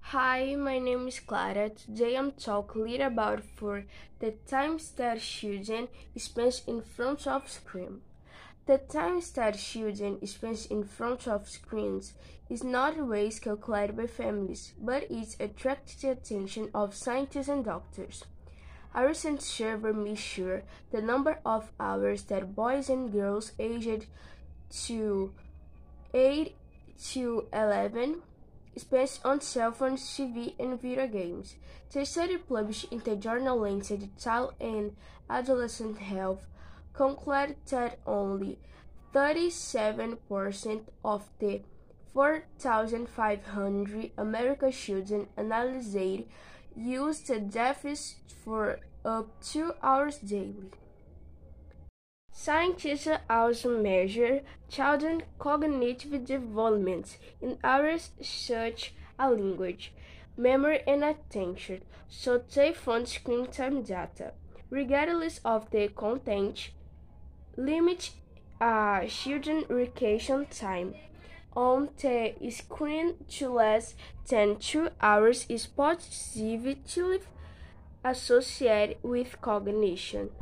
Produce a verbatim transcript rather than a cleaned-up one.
Hi, my name is Clara. Today I'm talking a little about for the times that children spend in front of screen. The times that children spend in front of screens is not always calculated by families, but it attracts the attention of scientists and doctors. A recent survey measured the number of hours that boys and girls aged to eight to eleven spent on cell phones, T V, and video games. The study published in the journal Lancet Child and Adolescent Health concluded that only thirty-seven percent of the four thousand five hundred American children analyzed used the device for up to two hours daily. Scientists also measure children's cognitive development in areas such as language, memory, and attention, so they fund screen time data. Regardless of the content, limit uh, children's recreation time on the screen to less than two hours is positively associated with cognition.